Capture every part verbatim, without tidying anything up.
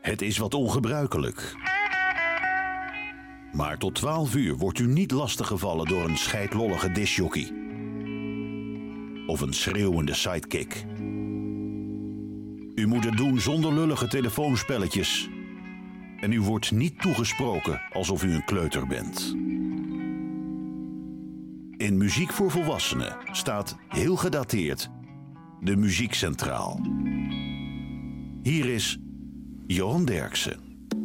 Het is wat ongebruikelijk. Maar tot twaalf uur wordt u niet lastiggevallen door een scheidlollige discjockey. Of een schreeuwende sidekick. U moet het doen zonder lullige telefoonspelletjes. En u wordt niet toegesproken alsof u een kleuter bent. In Muziek voor Volwassenen staat, heel gedateerd, de muziek centraal. Hier is Johan Derksen.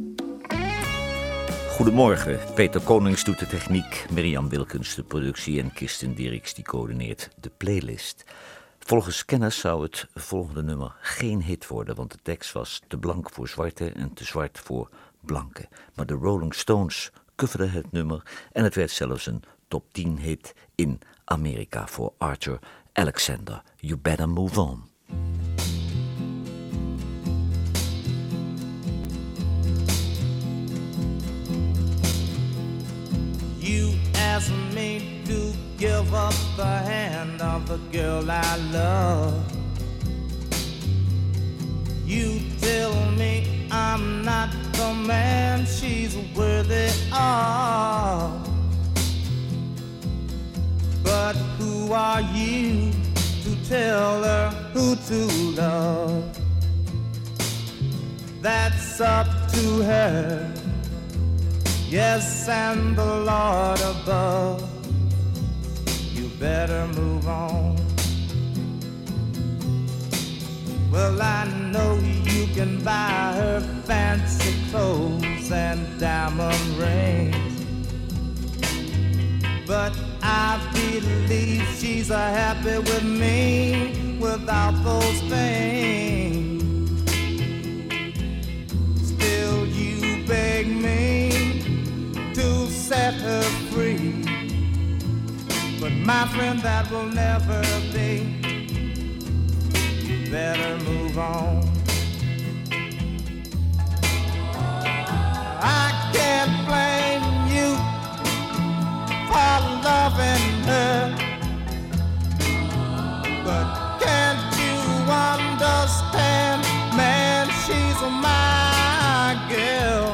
Goedemorgen, Peter Konings doet de techniek, Mirjam Wilkens de productie en Kirsten Dierks die coördineert de playlist. Volgens kenners zou het volgende nummer geen hit worden, want de tekst was te blank voor zwarte en te zwart voor blanke. Maar de Rolling Stones coverden het nummer en het werd zelfs een top tien hit in Amerika voor Arthur Alexander. You Better Move On. You asked me to give up the hand of the girl I love. You tell me I'm not the man she's worthy of. But who are you to tell her who to love? That's up to her. Yes, and the Lord above. You better move on. Well, I know you can buy her fancy clothes and diamond rings, but I believe she's a happy with me without those things. Still, you beg me to set her free, but my friend, that will never be. You better move on. I can't blame you for loving her, but can't you understand, man, she's my girl.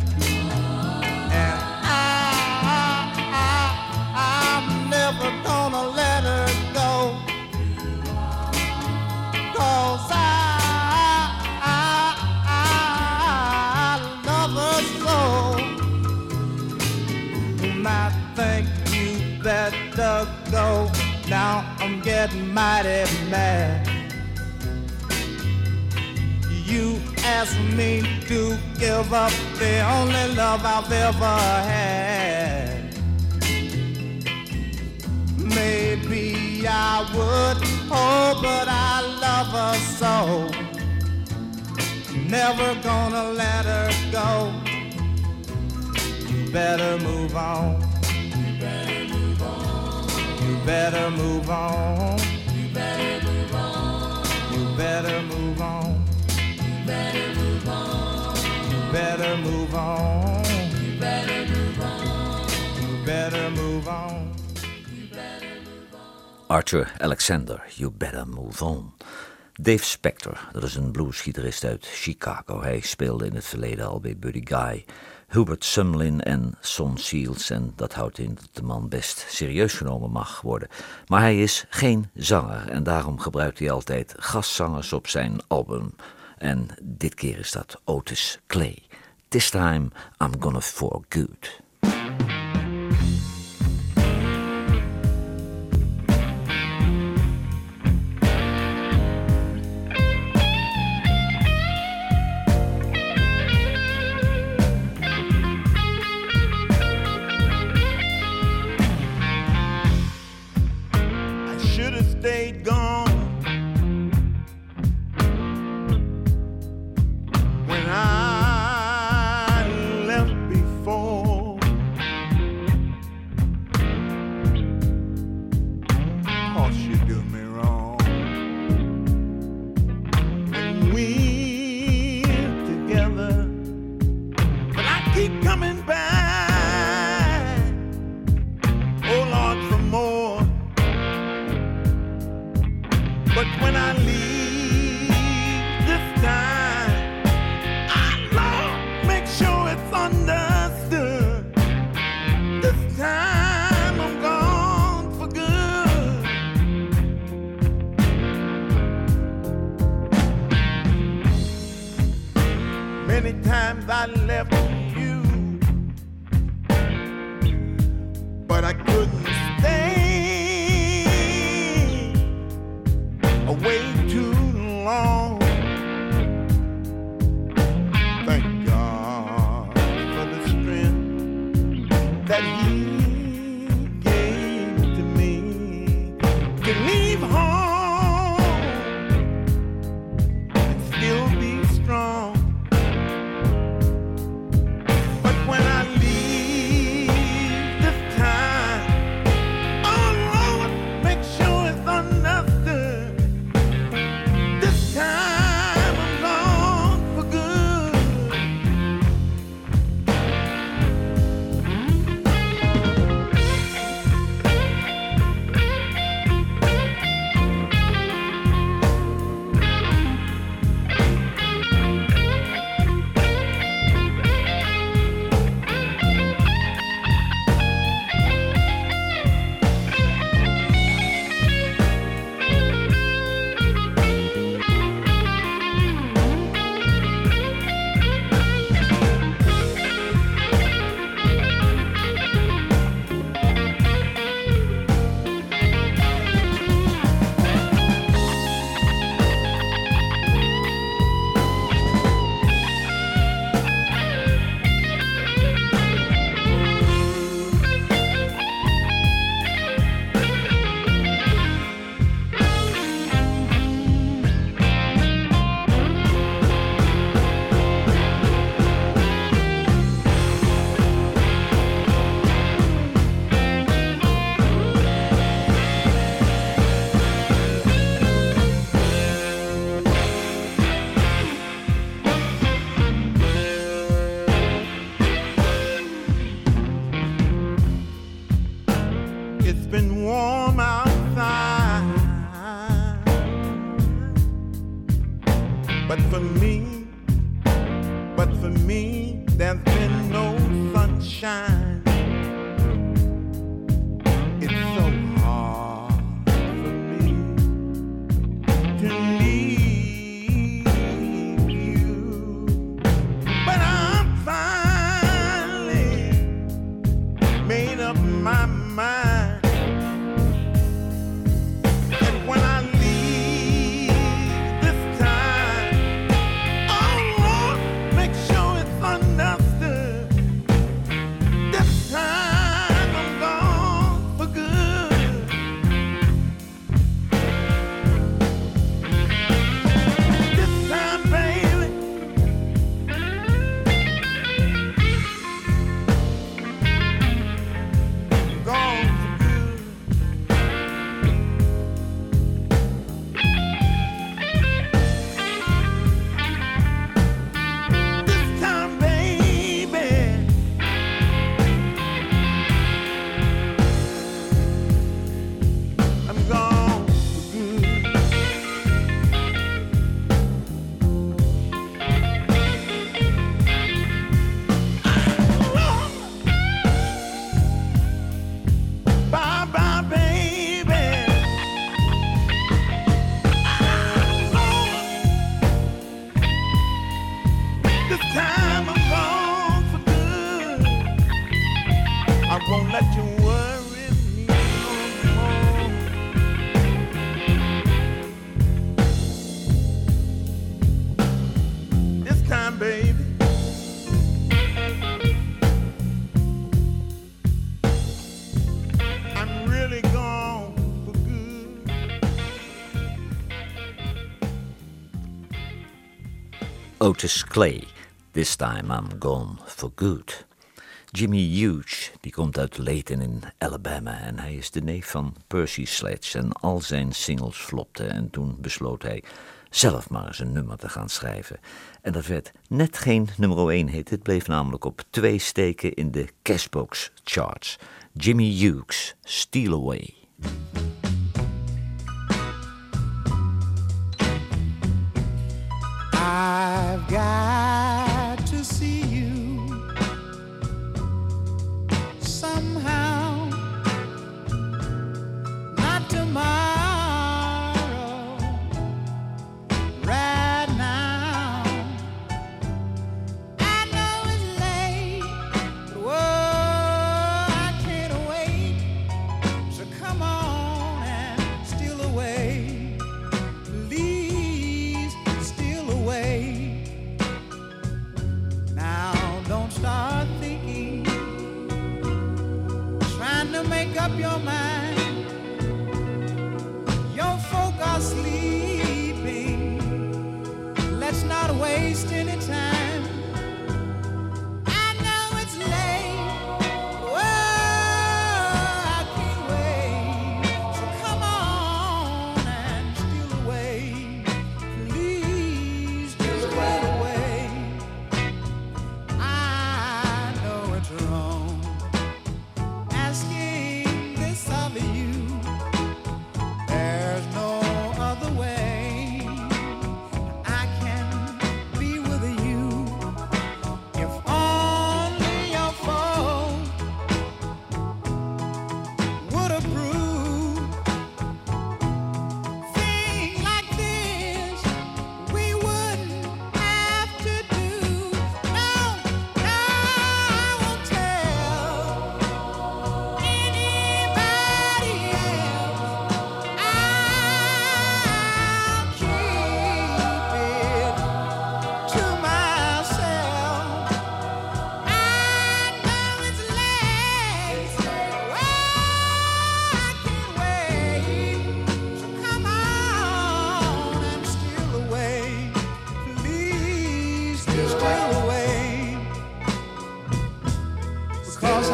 Gonna let her go, 'cause I, I, I love her so. And I think you better go. Now I'm getting mighty mad. You asked me to give up the only love I've ever had. Maybe I would, oh, but I love her so. Never gonna let her go. You better move on. You better move on. You better move on. You better move on. You better move on. You better move on. You better move on. You better move on. You better move on. Arthur Alexander, You Better Move On. Dave Spector, dat is een bluesgitarist uit Chicago. Hij speelde in het verleden al bij Buddy Guy, Hubert Sumlin en Son Seals. En dat houdt in dat de man best serieus genomen mag worden. Maar hij is geen zanger en daarom gebruikt hij altijd gastzangers op zijn album. En dit keer is dat Otis Clay. This time I'm gonna for good. Stayed gone when I left before. Cause you do me wrong. When we're together, but I keep coming back. Oh Lord, for more. But when I leave this time, I times I left you, but I couldn't stay away too long. Thank God for the strength that He gave to me to leave home and still be strong. But when I leave this time, oh Lord, make sure it's understood. This time I'm gone for good. It's been warm outside, but for me, but for me, there's been no sunshine. It's so hard for me to leave you, but I'm finally made up my mind. Otis Clay, This Time I'm Gone for Good. Jimmy Hughes, die komt uit Layton in Alabama en hij is de neef van Percy Sledge en al zijn singles flopten en toen besloot hij zelf maar eens een nummer te gaan schrijven. En dat werd net geen nummer één hit, het bleef namelijk op twee steken in de Cashbox charts. Jimmy Hughes, Steal Away. I've got to see you somehow, not tomorrow, right now. I know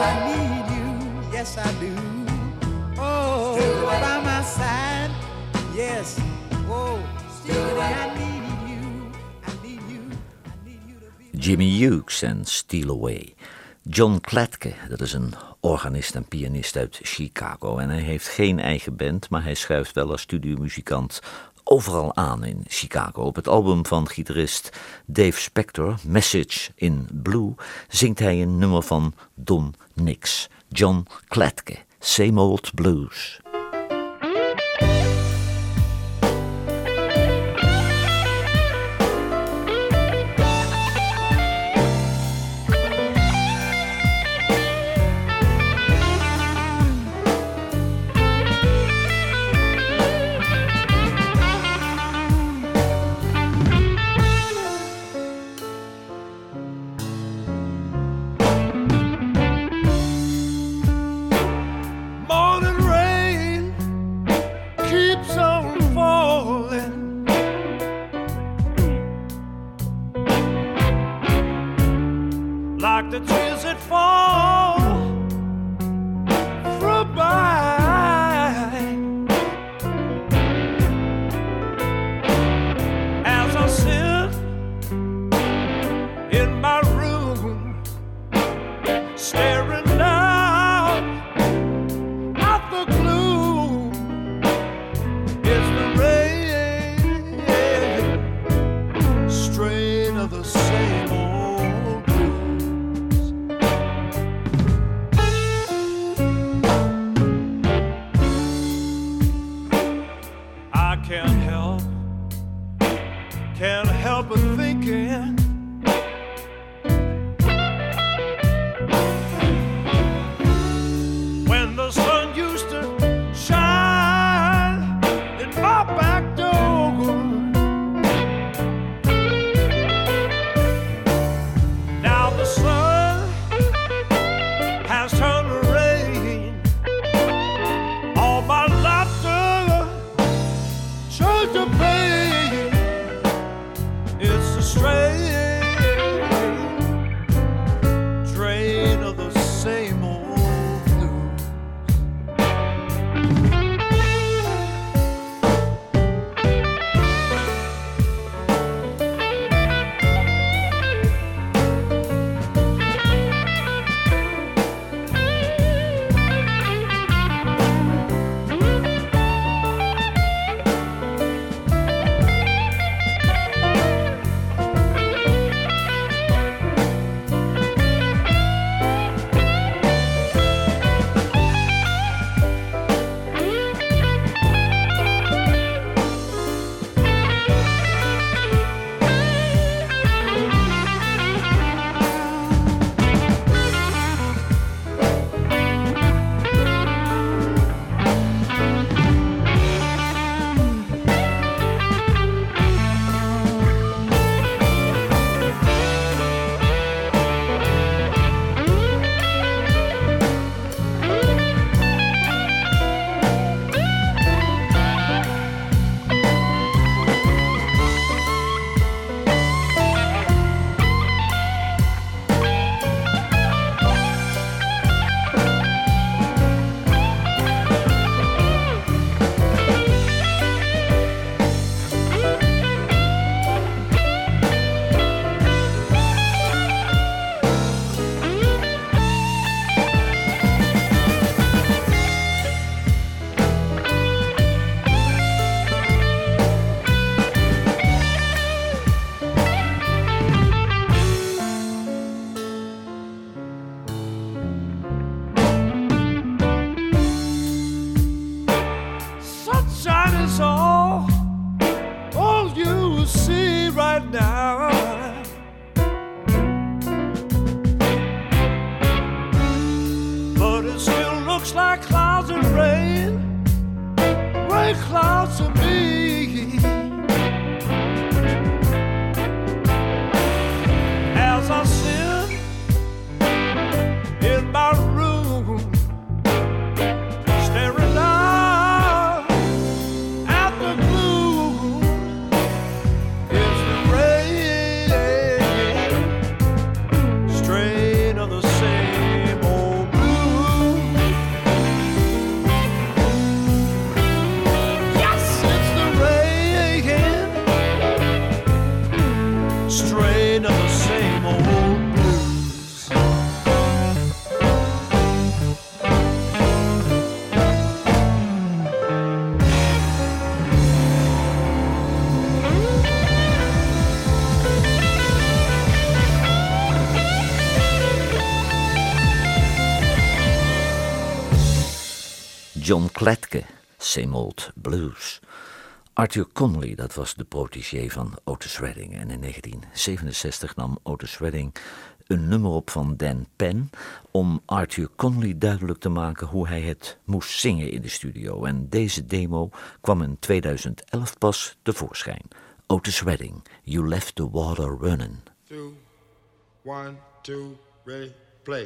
I need you, yes I do. Oh, by my side, yes. Oh, I need you, I need you, I need you to be. Jimmy Hughes en Steal Away. John Kletke, dat is een organist en pianist uit Chicago. En hij heeft geen eigen band, maar hij schuift wel als studiomuzikant overal aan in Chicago. Op het album van gitarist Dave Spector, Message in Blue, zingt hij een nummer van Don Nix. John Kletke, Same Old Blues. Like the tears that fall from my as I sit in my room staring down at the gloom. It's the rain, strain of the same old. Can't help, can't help but thinking when the sun used to shine in my back door. Now the sun has turned to rain. All my laughter turned to pain. It's the strain, drain of the same old blues. John Kletke, Same Old Blues. Arthur Conley, dat was de protégé van Otis Redding. En in negentien zevenenzestig nam Otis Redding een nummer op van Dan Penn om Arthur Conley duidelijk te maken hoe hij het moest zingen in de studio. En deze demo kwam in tweeduizend elf pas tevoorschijn. Otis Redding, You Left the Water Running. Two, one, two, ready, play.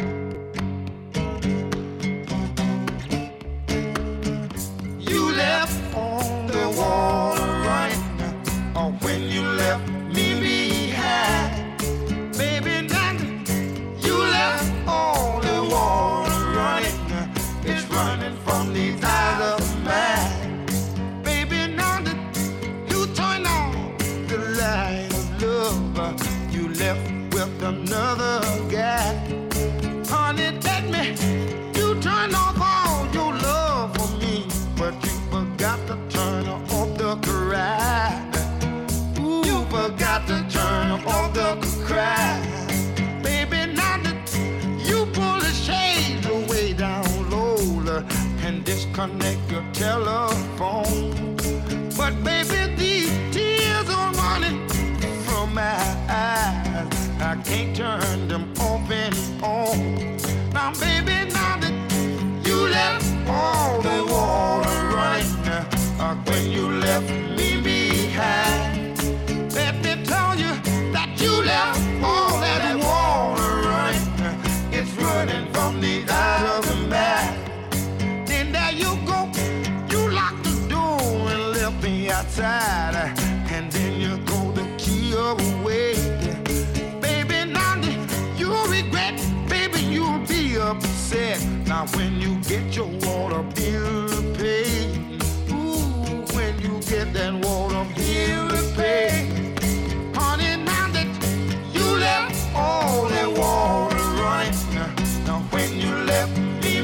You left on the water running, or when you left me behind, baby, now you left all the water running. It's running from these eyes of mine, baby. Now that you turn on the light of love, you left with another guy. Honey, let me, you turn off all your love for me, but you forgot to turn off the cry. Ooh, you forgot to turn off the cry. Baby, now that you pull the shades away down low and disconnect your telephone, but baby, these tears are running from my eyes. I can't turn them off and on. Now, baby, now that you left all the water running, uh, when you left me behind, let me tell you that you left all that water running. It's running from the eye of the man. Then there you go, you locked the door and left me outside, and then you throw the key away. Baby, now that you regret, baby, you'll be upset. Now when you get your water bill paid, ooh, when you get that water bill paid, honey, now that you left all that water running, now when you left me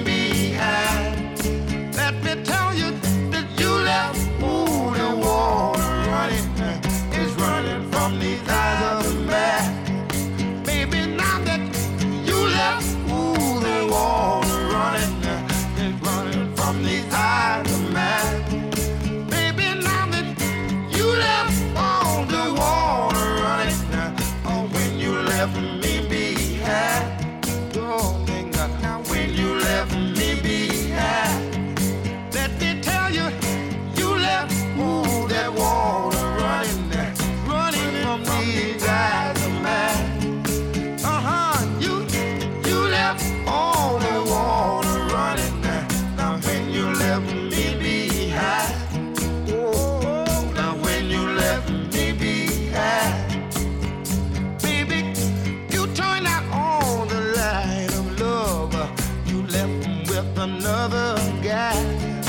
behind, let me tell you that you left all the water running. It's running from these eyes of the man. Baby, now that you left all the water running, it's running from these eyes of man. Baby, now that you left all the water running, oh, when you left me behind, darling, now when you left me behind, let me tell you, you left all that water running, running from these eyes of mine. Uh-huh, you, you left all the water running, now when you left me behind, oh, now when you left me behind, baby, you turned out all the light of love, you left with another guy.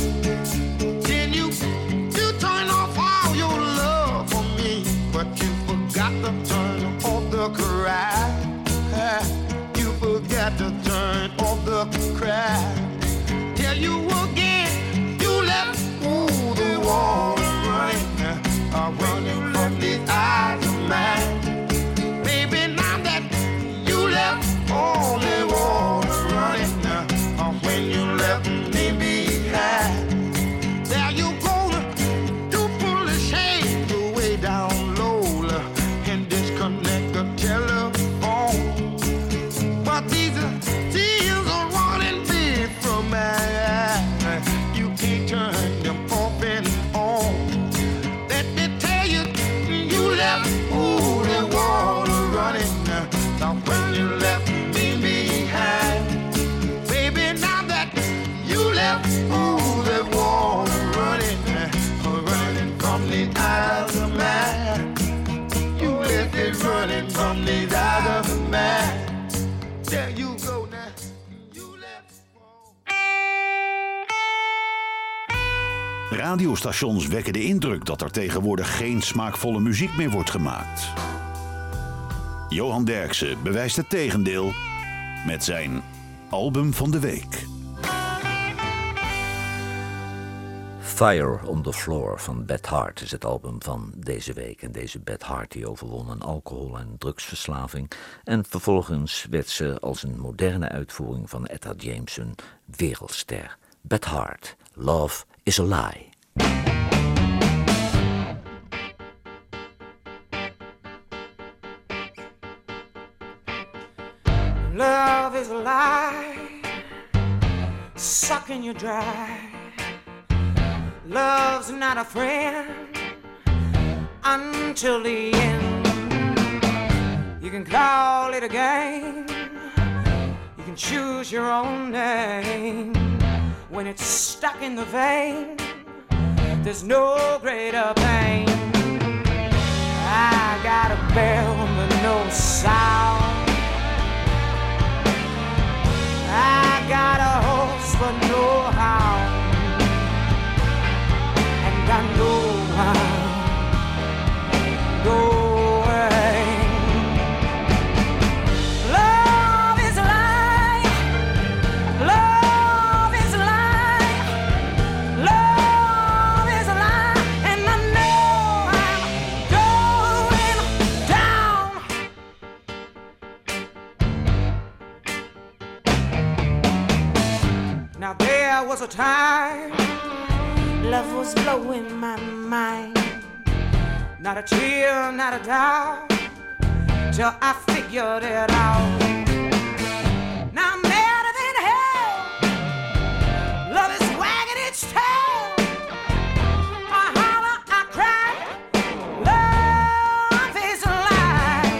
Then you, you turn off all your love for me, but you forgot to turn off the cry. You forgot to turn off the cry. Tell you again, you left all the water running, uh, running from these eyes of mine. Baby, now that you left all the water running, uh, when you left me behind, there you go, you pull the shades away down low and disconnect the telephone. But these tears are running big from my eyes. You can't turn them off and on. Let me tell you, you left all the water running. Now when you left me behind, baby, now that you left all the water running, running from the eyes of man. You left it running from the eyes of man. There you go now. You left. Radiostations wekken de indruk dat er tegenwoordig geen smaakvolle muziek meer wordt gemaakt. Johan Derksen bewijst het tegendeel met zijn album van de week. Fire on the Floor van Beth Hart is het album van deze week. En deze Beth Hart die overwon een alcohol- en drugsverslaving. En vervolgens werd ze als een moderne uitvoering van Etta James een wereldster. Beth Hart, Love is a Lie. Love is a lie, sucking you dry. Love's not a friend until the end. You can call it a game, you can choose your own name. When it's stuck in the vein, there's no greater pain. I got a bell but no sound, I got a horse but no hound, and I know I'm going. Love is a lie, love is a lie, love is a lie, and I know I'm going down. Now there was a time love was blowing my mind. Not a tear, not a doubt, till I figured it out. Now I'm madder than hell, love is wagging its tail. I holler, I cry, love is a lie.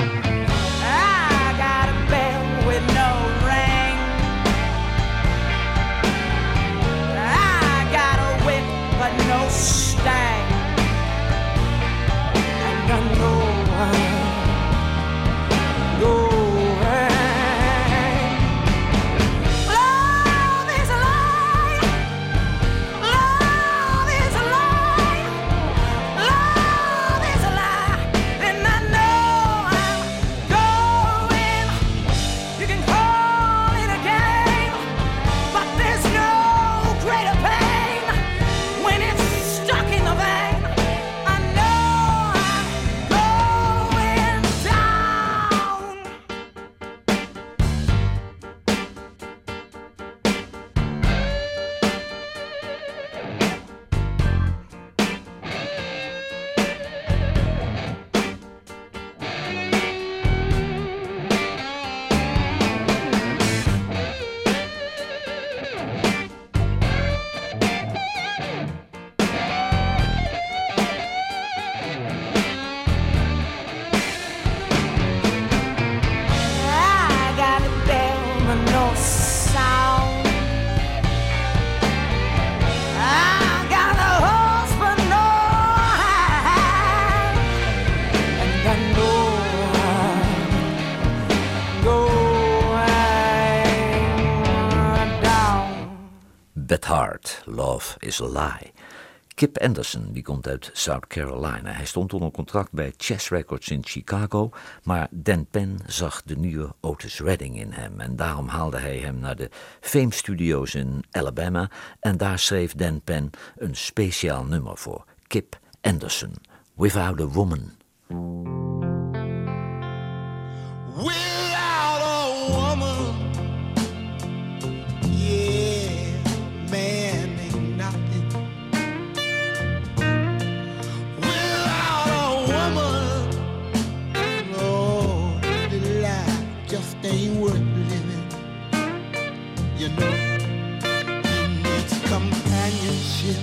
I got a bell with no ring, I got a whip but no stang, and I know I'm going. Love is a lie, love is a lie, love is a lie, and I know I'm going. You can call it a game, but there's no greater pain when it's stuck in the vein. I know I'm going down. I got a bell but no sound, I got a horse but no hound, and I know I'm going down. Beth Hart, Love is a Lie. Kip Anderson, die komt uit South Carolina. Hij stond onder contract bij Chess Records in Chicago, maar Dan Penn zag de nieuwe Otis Redding in hem en daarom haalde hij hem naar de Fame Studios in Alabama en daar schreef Dan Penn een speciaal nummer voor Kip Anderson, Without a Woman. Without a woman, yeah, man ain't nothing. Without a woman, Lord, the life just ain't worth living. You know, he needs companionship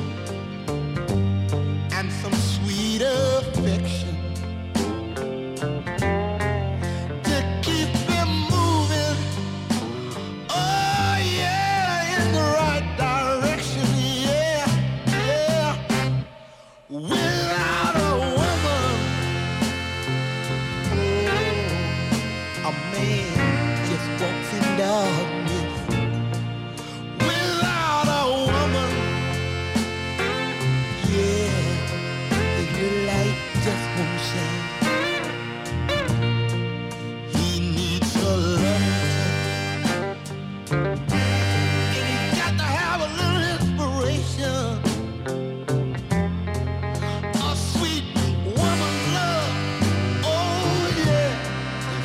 and some sweet affection.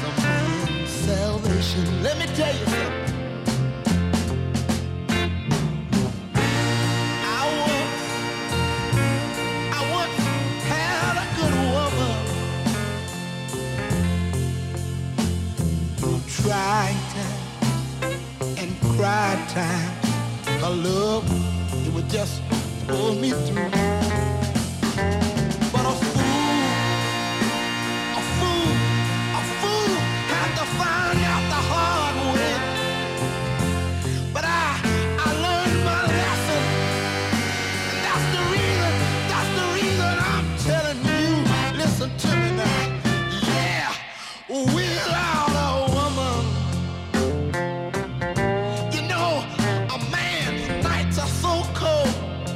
Let me tell you something. times. My love, it would just pull me through. But a fool, a fool, a fool had to find out the hard way. But I, I learned my lesson, and that's the reason, that's the reason I'm telling you. Listen to me now, yeah, without a woman, you know, a man's nights are so cold,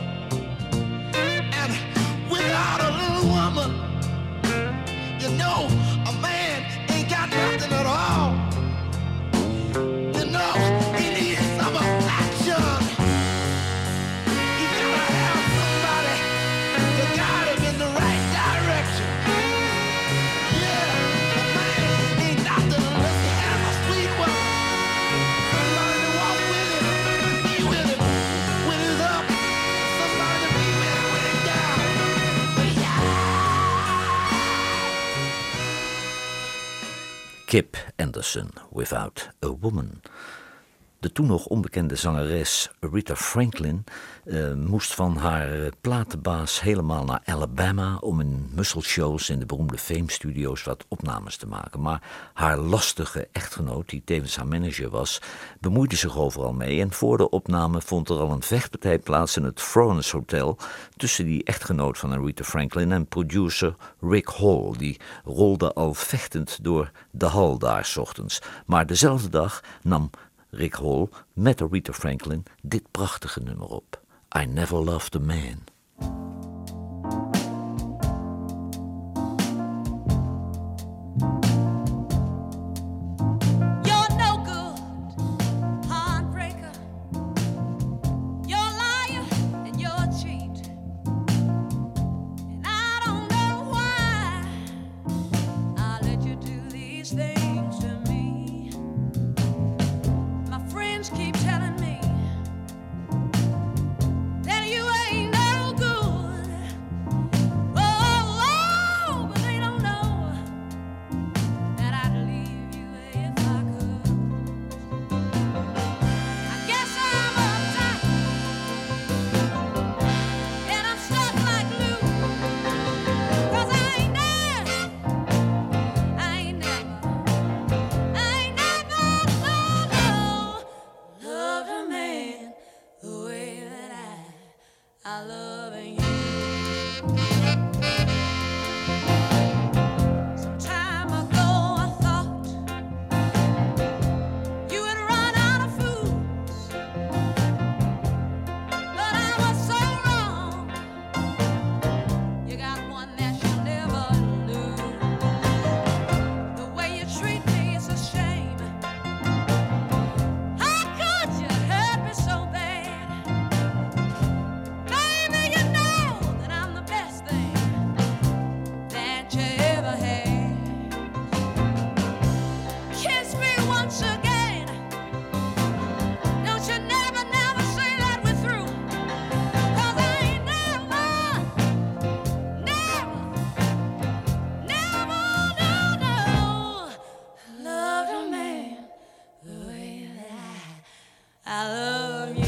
and without a little woman, you know, a man ain't got nothing at all. You know, he needs some affection. He's gotta have somebody to guide him in the right direction. Yeah, a man ain't nothing unless he has a sweet woman. Somebody to walk with him, be with him when he's up. Somebody to be with him when he's down. Yeah. Kip Anderson, Without a Woman. De toen nog onbekende zangeres Rita Franklin uh, moest van haar uh, platenbaas helemaal naar Alabama om in musselshows in de beroemde Fame Studios wat opnames te maken. Maar haar lastige echtgenoot, die tevens haar manager was, bemoeide zich overal mee. En voor de opname vond er al een vechtpartij plaats in het Florence Hotel tussen die echtgenoot van Rita Franklin en producer Rick Hall. Die rolde al vechtend door de hal daar 's ochtends. Maar dezelfde dag nam Rick Hall met Rita Franklin dit prachtige nummer op. I Never Loved a Man. You're no good, heartbreaker. You're a liar and you're a cheat. And I don't know why I let you do these things to me. My friends keep telling me that you ain't no good. Oh, oh, but they don't know that I'd leave you if I could. I guess I'm uptight and I'm stuck like glue. 'Cause I ain't never, I ain't never, I ain't never, no, no, loved a man the way that I, I love you. Some time ago I thought you had run out of fools, but I was so wrong. You got one that you'll never lose. The way you treat me is a shame. How could you hurt me so bad? Baby, you know that I'm the best thing that you ever had. Kiss me once again. Don't you never, never say that we're through. 'Cause I ain't never, never, never, no, no, loved a man the way that I, I love you.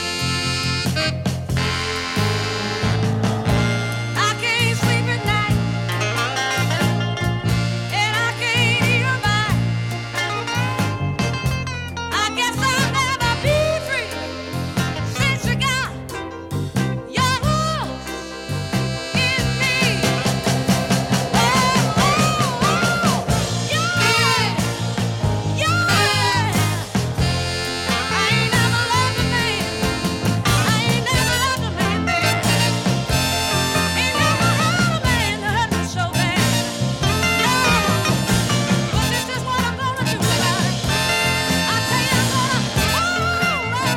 I can't sleep at night, and I can't eat a bite. I guess I'll never be free since you got your hooks in me. Oh, oh, oh, yeah, yeah. I ain't never loved a man. I ain't never loved a man, baby. Ain't never had a man that hurt me so bad. No, but this is what I'm gonna do about it. I tell you, I'm gonna hold on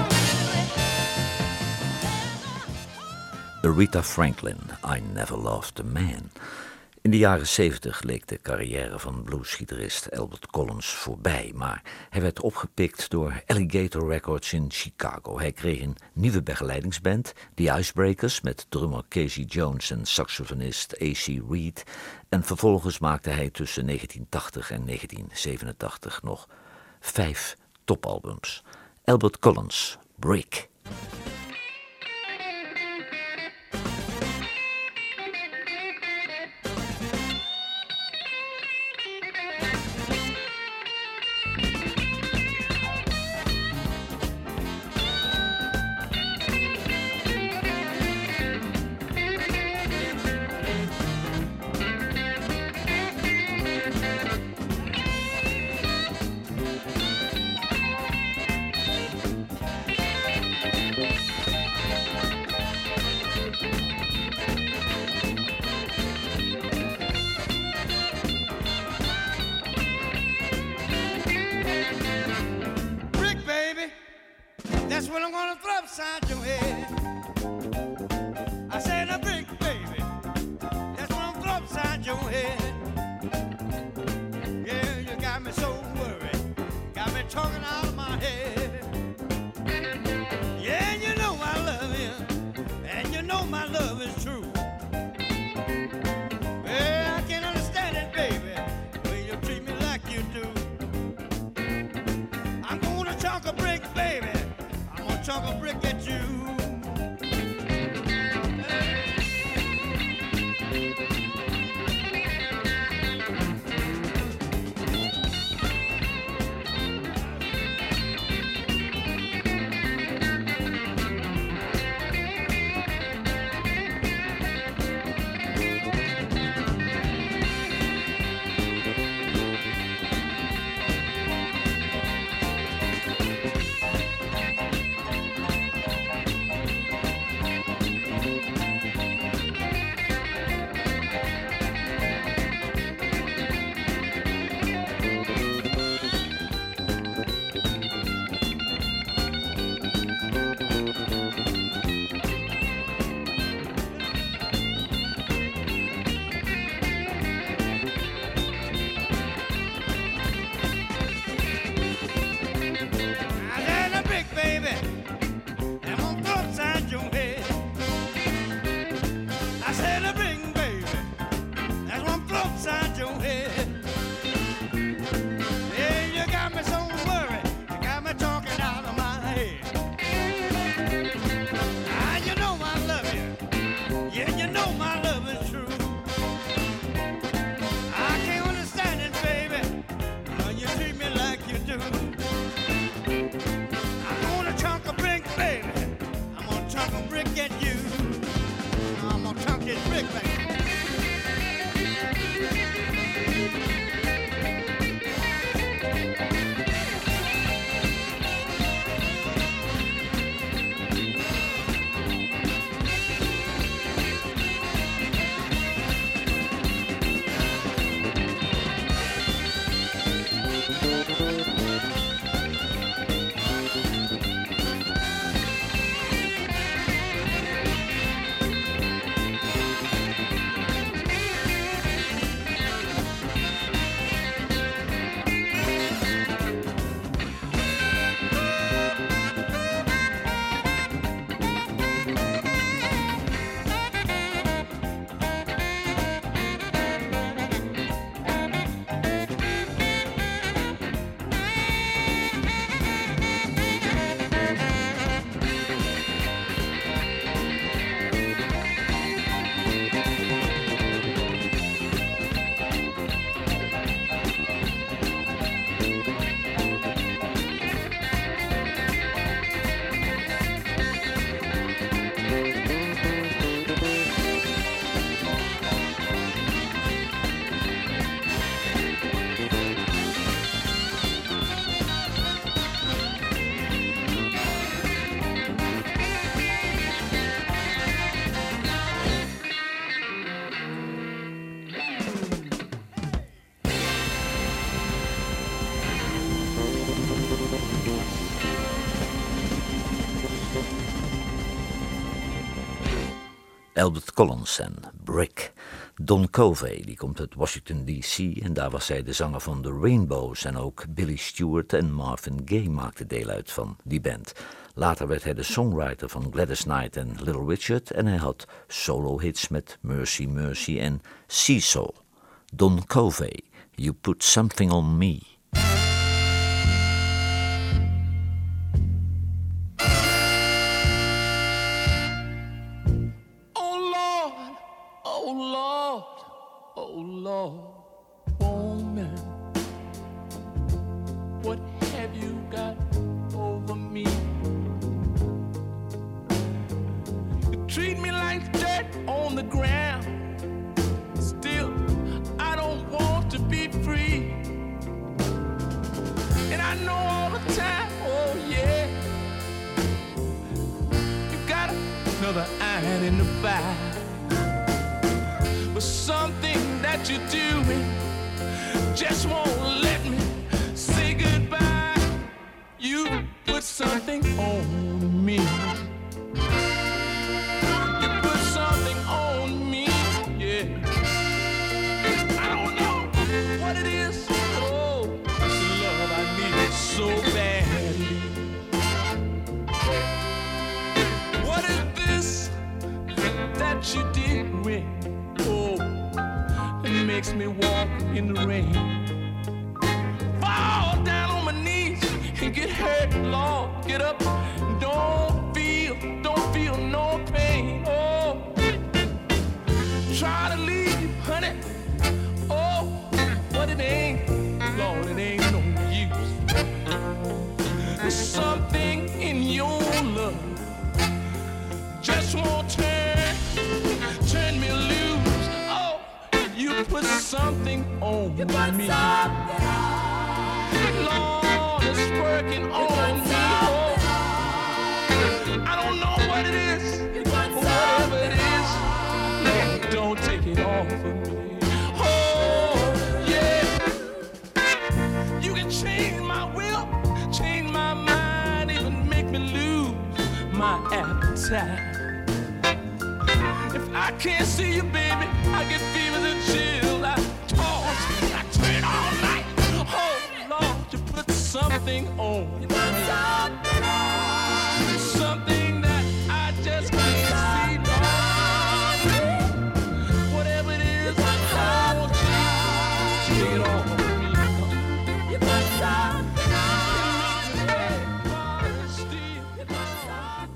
to it. Rita Franklin, I Never Loved a Man. In de jaren zeventig leek de carrière van bluesgitarist Albert Collins voorbij, maar hij werd opgepikt door Alligator Records in Chicago. Hij kreeg een nieuwe begeleidingsband, The Icebreakers, met drummer Casey Jones en saxofonist A C Reed. En vervolgens maakte hij tussen negentien tachtig en negentien zevenentachtig nog vijf topalbums. Albert Collins, Brick. That's what I'm gonna throw upside your head. I said a brick, baby. That's what I'm throw upside your head. Yeah, you got me so worried. Got me talking out of my head. Yeah, you know I love you. And you know my love is true. Well, I can't understand it, baby, when you treat me like you do. I'm gonna chalk a brick, baby. I'm gonna chalk a brick at you. Albert Collins en Brick. Don Covey, die komt uit Washington D C en daar was hij de zanger van The Rainbows en ook Billy Stewart en Marvin Gaye maakten deel uit van die band. Later werd hij de songwriter van Gladys Knight en Little Richard en hij had solo-hits met Mercy Mercy en Seesaw. Don Covey, You Put Something on Me. Oh Lord, woman, what have you got over me? You treat me like dirt on the ground. Still, I don't want to be free. And I know all the time, oh yeah, you got another iron in the fire. But something that you're doing just won't let me say goodbye. You put something on me. You put something on me, yeah. I don't know what it is. Oh, it's the love I need so badly. What is this that you did with? Oh, it makes me walk in the rain. Fall down on my knees and get hurt, Lord. Get up, don't feel, don't feel no pain. Oh, try to leave, honey. Oh, but it ain't, Lord, it ain't no use. There's something in your love just won't turn, turn me loose. You put something on you put me. Something on. Lord, it's working you on me. Oh, I don't know what it is, you whatever it is. Lord, don't take it off of me. Oh, yeah. You can change my will, change my mind, even make me lose my appetite. If I can't see you, baby, I get fevers and chills. I toss, I turn all night. Oh, Lord, you put something on me. Something on. Something that I just can't see, Lord. Whatever it is, I want you to take it off of me. You put something on. You put something.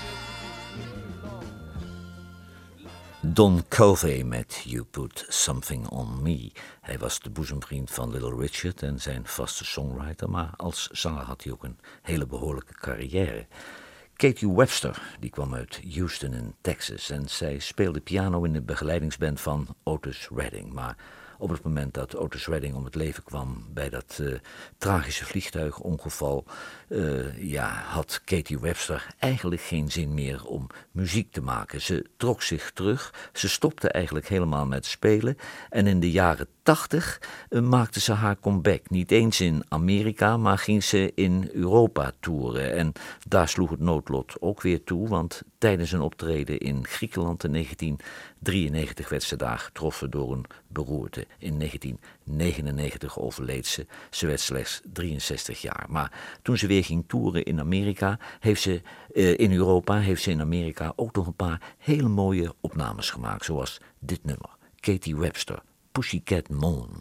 Don Covey met You Put Something On Me. Hij was de boezemvriend van Little Richard en zijn vaste songwriter, maar als zanger had hij ook een hele behoorlijke carrière. Katie Webster, die kwam uit Houston in Texas en zij speelde piano in de begeleidingsband van Otis Redding, maar op het moment dat Otis Redding om het leven kwam bij dat uh, tragische vliegtuigongeval, uh, ja, had Katie Webster eigenlijk geen zin meer om muziek te maken. Ze trok zich terug, ze stopte eigenlijk helemaal met spelen en in de jaren tachtig uh, maakte ze haar comeback. Niet eens in Amerika, maar ging ze in Europa toeren. En daar sloeg het noodlot ook weer toe, want tijdens een optreden in Griekenland in negentien drieënnegentig werd ze daar getroffen door een beroerte. In negentien negenennegentig overleed ze. Ze werd slechts drieënzestig jaar. Maar toen ze weer ging toeren in Amerika, heeft ze uh, in Europa, heeft ze in Amerika ook nog een paar hele mooie opnames gemaakt, zoals dit nummer. Katie Webster, Pussycat Moon.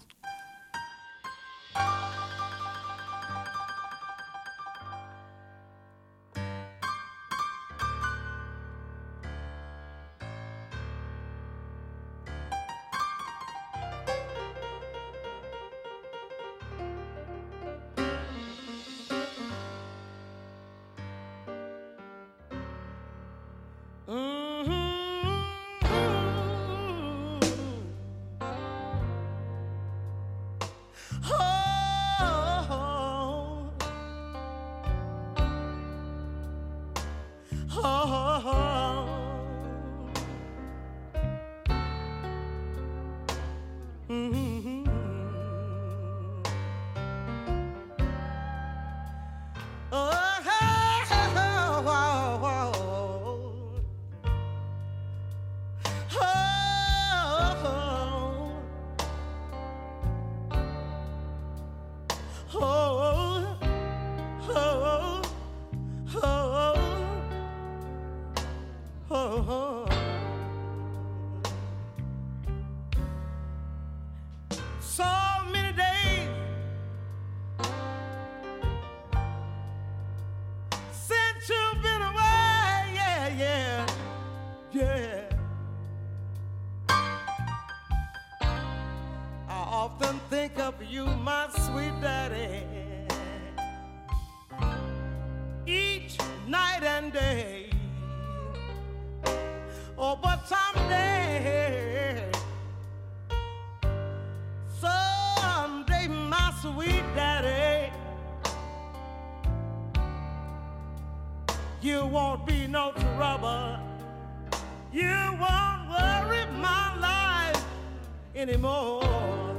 often think of you, my sweet daddy, each night and day. Oh, but someday, someday, my sweet daddy, you won't be no trouble. You won't worry my life anymore.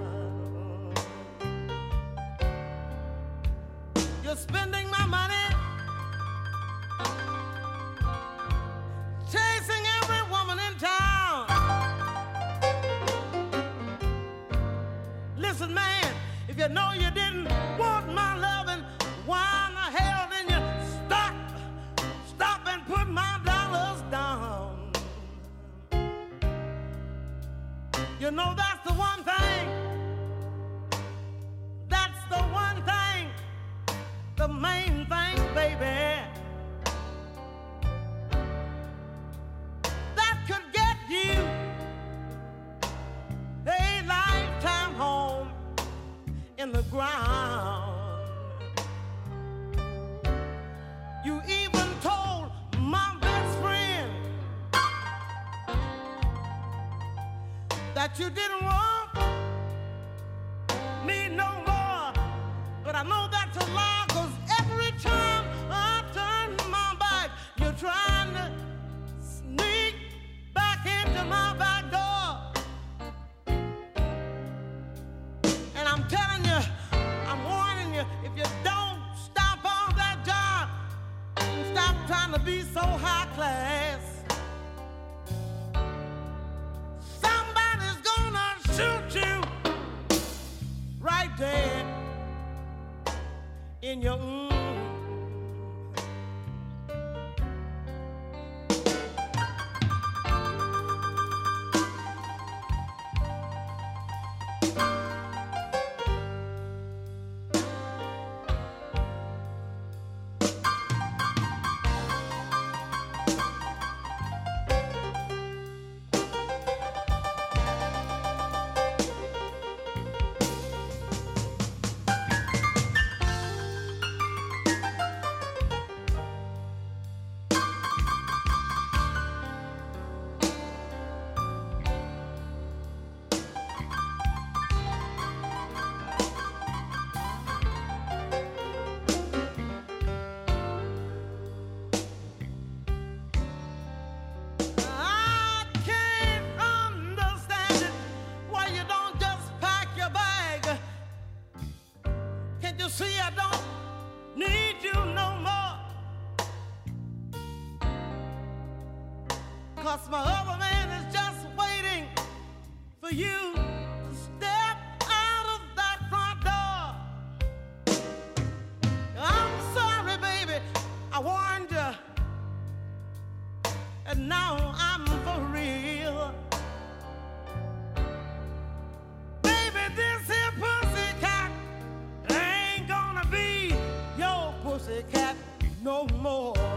You're spending my money, chasing every woman in town. Listen, man, if you know you didn't want my loving, why in the hell didn't you stop, stop and put my dollars down? You know that's the one thing, that's the one thing, the main thing, baby, that could get you a lifetime home in the ground. You even told my best friend that you didn't want me no more, but I know that's a lie, 'cause every time I turn my back, you're trying to sneak back into my back door. And I'm telling you, I'm warning you, if you don't stop on that job and stop trying to be so high class, somebody's gonna shoot you right there in your mm. My other man is just waiting for you to step out of that front door. I'm sorry, baby, I warned you, and now I'm for real. Baby, this here pussycat ain't gonna be your pussycat no more.